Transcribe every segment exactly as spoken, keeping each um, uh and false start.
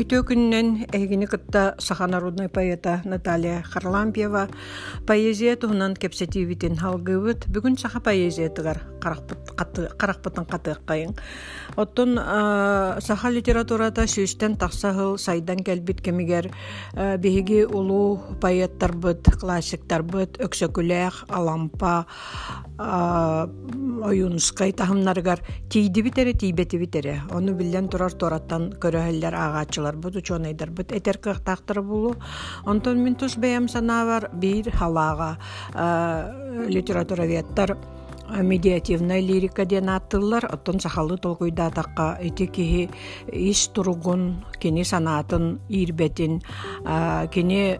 Бүтө күннен эгини кытта саха народный поэта Наталья Харлампьева поэзия туһунан кепсетибитин халгыбыт бүгүн саха поэзия тыгар каракпытын катыаккайын. Оттон саха литературата сүүстен тахсахыл сайдан келбит кемигер биһиги улуу поэттарбыт, классиктарбыт, Өксөкүлэх, Алампа, Оюнускай тахымнарыгар тийди битере, тийбети битере. Onu билен турар тораттан көрөһөллөр агачылар бут учонайдар бут этер кыктактыр булу. Онтон мен тус бэм санавар бир халага литератураветтар медиативная лирика ден аттылар. Оттон сахалы толкуйда такка эти кихи ис туругун, кини санатын, ирбетин, кини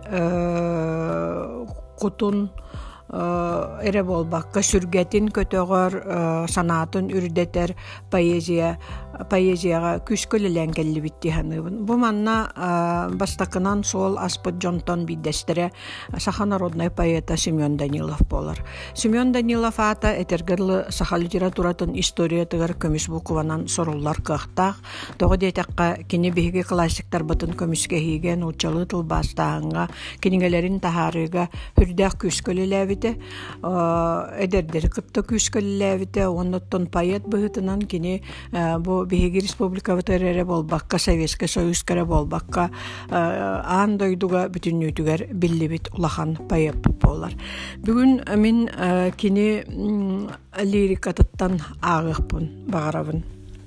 кутун эре болбакка сүргетин көтөгөр санатын үрдетер поэзия поэзияга күскөлөлөн келлибитти ханыбын. Бу манна бастакынан сол аспыт жонтон биддестере саха народный поэта Семен Данилов болар. Семен Данилов ата этергерлы саха литературатын история тыгар көмүс букуванан соруллар кыктак. Тога детакка кини биһиги классиктар бытын көмүскө хийген учалы тыл бастаанга кинигелерин тахарыга хүрдэх күскөлөлөбите эдердер кытта күскөлөлөбите онноттон поэт быһытынан кини бу биһиги республика бытерере болбакка Советский Союз кере болбакка аан дойдуга бүтүннүтүгер биллибит улахан поэт болар. Бүгүн мен кини лирикатыттан агыкпын, багарабын.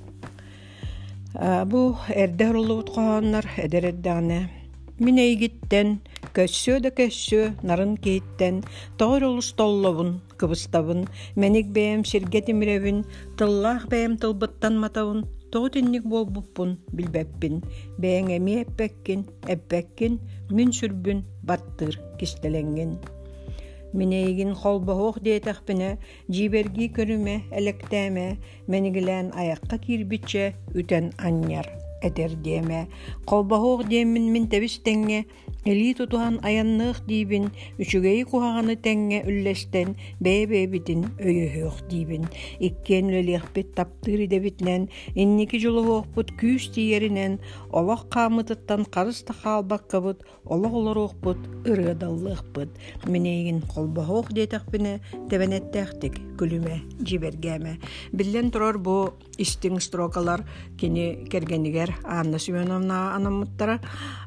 Бу эрдер улут кооннар эдереддагына Мен эйгиттен, көссө да көссө, нарын кейттен, тоғыр улус толлобун, кыбыстабын, меник бэм сиргетимиревин, тыллах бэм тылбыттан матавын, тоғытинник болбуппун, билбеппин, бэң эми эппеккин, эппеккин, мүн сүрбүн, баттыр, кистеленген. Мен эйгин холбоғуқ дейтақпіне, жиберги көріме, электеме, менигілен аяққа кирбитче, үтен аньяр. Этердеме, колбахук демин min тебис теңге, эли тутухан аяннык дибин, үчүгей кухаганы теңге үллестен, бэбэбитин өйөһөк дибин. Иккен лөлехпет таптыры дебитнен, инники жолуокпут күүс тиеринен, олох камытыттан карыс тахалбаккабыт, олох олоруокпут ырыдаллыхпыт. Менейгин колбахук дейтақпіне тебенеттехтик күлүме, жибергеме. Биллен турар бу истиң строкалар кини кергенигер Анна Семеновна анамыттара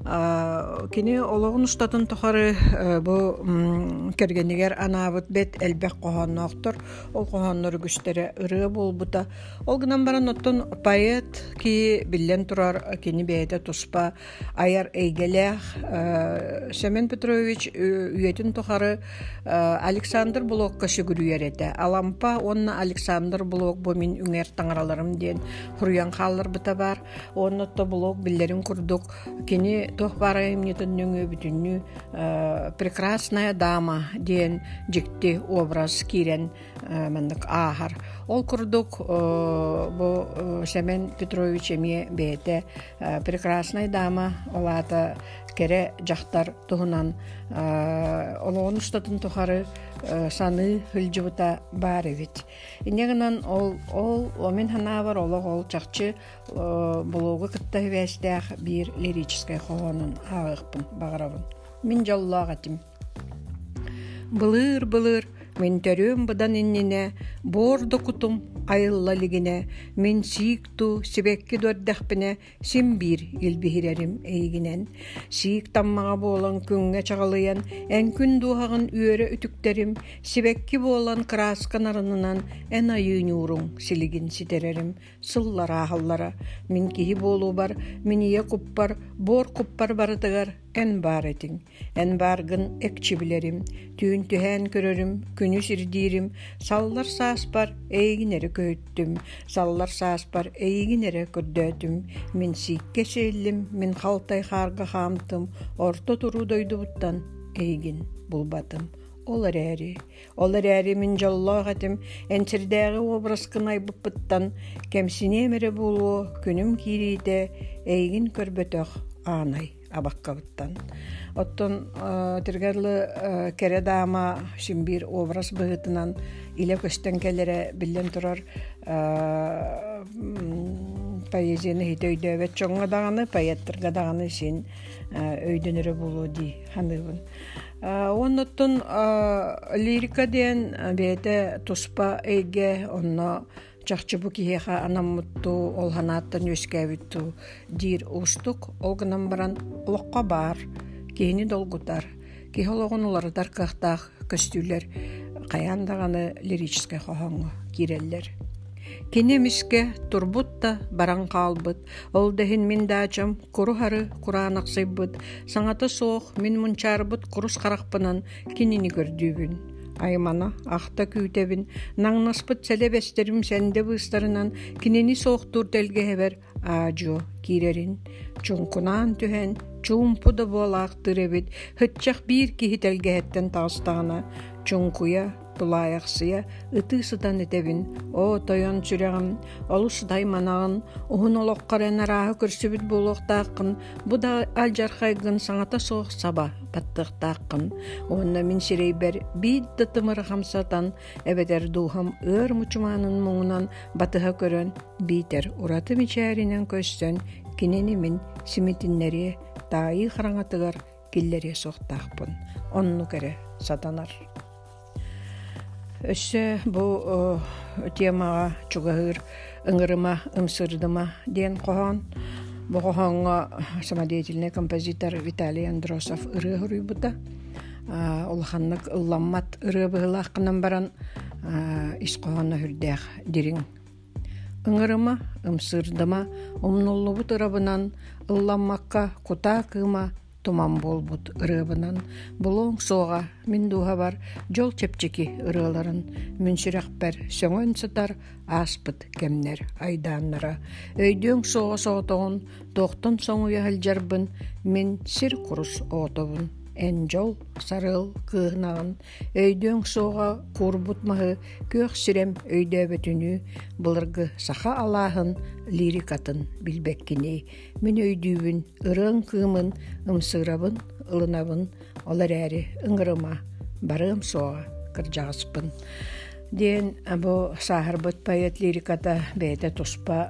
кини ологун устатын тохары бу кергенигер анабыт бет элбек кохонноктор ол кохоннор күстере ыры болбута ол гынан баран оттон поэт ки биллен турар кини бейте туспа аяр эйгелех Семен Петрович үйетін тохары Александр Блокка шүгүрүерете Алампа онна Александр Блок бу мин үңер таңараларым ден хуруян халлар быта бар оннотто блок биллерин курдук кини тох барайым нетөннүңө бүтүннү прекрасная дама ден жикти образ кирен мандык ахар ол курдук бу Семен Петрович эме бете прекрасная дама олата кере жактар туһунан олоон устатын тухары саны хылжыбыта бар эбит. Инегенен ол ол омен ханавар олог ол чакчы блогы кытта вестях бир лирический хонун агыкпын багарабын. Мин жаллагатым. Былыр былыр мен төрөм быдан иннине бордо кутум айыллалигине мен сикту сибекки дөрдәхпине сим бир илбихирерим эйгинен сик таммага болан күнгө чагалыян эн күн дуһагын үөрө үтүктерим сибекки болан красканарынынан эн айыынуурун силигин ситерерим сыллара халлара мен кихи болуу бар миние куппар бор куппар барытыгар эн бар этиң эн баргын экчибилерим түүн түһэн көрөрүм күнү сирдирим саллар сааспар эйгинери көйттүм саллар сааспар эйгинери көрдөтүм мен сикке селлим мен халтай харга хамтым орто туру дойдубуттан эйгин булбатым олар әри олар әри мен жаллагатым энчирдәге образкынай буппыттан кемсине мере болу күнүм кириде эйгин көрбөтөх анай абаккабыттан оттон тиргерлы кере дама шимбир образ быгытынан иле көстен келере билен турар поэзияны хит өйдөбөт чоңга даганы поэттырга даганы син өйдөнөрө болуу ди ханыбын. Оннуттун лирика ден бете туспа эйге онно чахчыбу киеха анаммутту олханааттан өскәбитту дир устук олгынан баран локка бар кени долгутар кихологон улардар кахтах көстүлөр каяндаганы лирический хохоңго киреллер. Кинемиске турбутта баран калбыт, ол дехин мин дачам курухары куранаксыйбыт, саңата соох мин мунчарбыт курус каракпынан кинини көрдүүбүн. Аймана ахта күйтебин, наңнаспыт селебестерим сенде быстарынан кинини соохтур делгehebер аажо кирерин. Чункунан түһен чумпуда болаактыребит, хытчах бир кихи телгehеттен тастагана, чункуя тулаяқсыя ытысытан этебин, о тойон сүрегім, олус дайманағын, уһун олоққарен арағы көрсібіт болуқтақын, бұда алжархайгын саңата соқ саба баттықтақын. Онна min сирейбер бейд дытымыр хамсатан, әбедер духам өр мучуманын мұңынан батыға көрін, бейтер ураты мичәрінен көстен, кенені min симитиннері тайы қараңатығар келлере соқтақпын. Онну кәрі сатанар. Өссө бу темаға чугahыр ыңырыма, ымсырдыма ден кохон. Бу кохонго самодеятельный композитор Виталий Андросов ыры хуруйбута. Улханнык ылламмат ыры быһылааккынан баран ис кохонно хүрдээх дирин. Ыңырыма, ымсырдыма, умнуллубут ырабынан ылламмакка кута кыма туман болбут ырыбынан, булоң соға мин духа бар жол чепчеки ырыларын, мүнсүрәкпер сөңөн сытар аспыт кемнер айдааннара. Өйдөң соға соғытоғын, тоқтын соңу яхылжарбын, мин сир курус отобун. Эн жол сарыл кыһынағын, өйдөң соға курбутмаһы көөх сирем өйдөбөтүнү, былыргы саха алаахын лирикатын билбеккини. Мин өйдүүбүн, ырын кыымын, ымсырабын, ылынабын, олар әрі ыңырыма, барым соға кыржағыспын. Ден бу сахарбыт поэт лириката бәйті туспа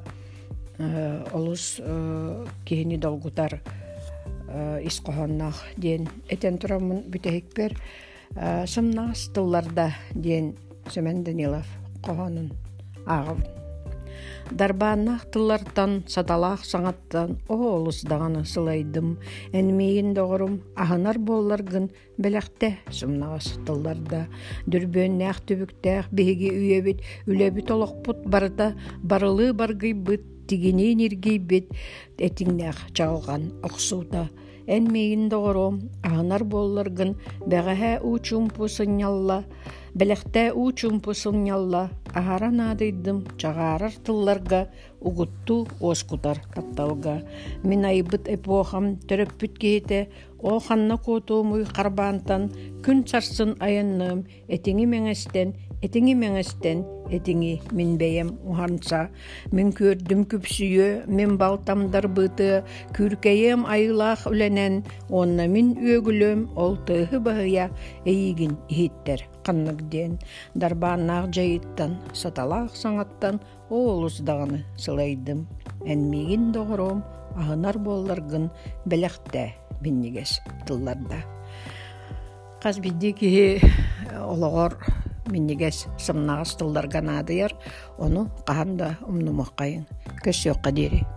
олус кихини долгутар ис кохоннах ден этен турамын бүтехикпер сымнаас тылларда ден Семен Данилов кохонун агып. Дарбааннах тыллартан саталаах саңаттан оолус даганы сылайдым. Энмейин доғырым ахынар болларгын беләхте сымнаас тылларда. Дүрбөннәх түбүктәх биһиги үйебит, үлебит олоқпут барыта барылы баргыйбыт, тигинин иргейбит, этиңнәх чағылған оқсута. Энмейин доғырым ахынар болларгын бәғәһә учумпу сынялла, беләхте учумпу сынялла, ахаран адыйдым чағарар тылларга угутту оскутар катталга. Мин айбыт эпохам төрөппүт кейте, о ханна кутумуй карбаантан күн сарсын аянным, этиңи меңестен, этиңи меңестен, этиңи мин бейем уханса. Мин көрдүм күпсүйө, мин балтамдар быты, күркейем айылах үленен, онна мин өгүлөм, ол тыһы баһыя эйигин иһиттер канныгден. Дарбааннаах жайыттан, саталаах саңаттан, оолус даганы сылайдым. Энмигин доғыром, ахынар болларгын беләхте миннигес тылларда. Қаз бидди кихи олоғор миннигес сымнағыз тылларга надыяр, оны қағанда умнумаққайын көсөққа дери.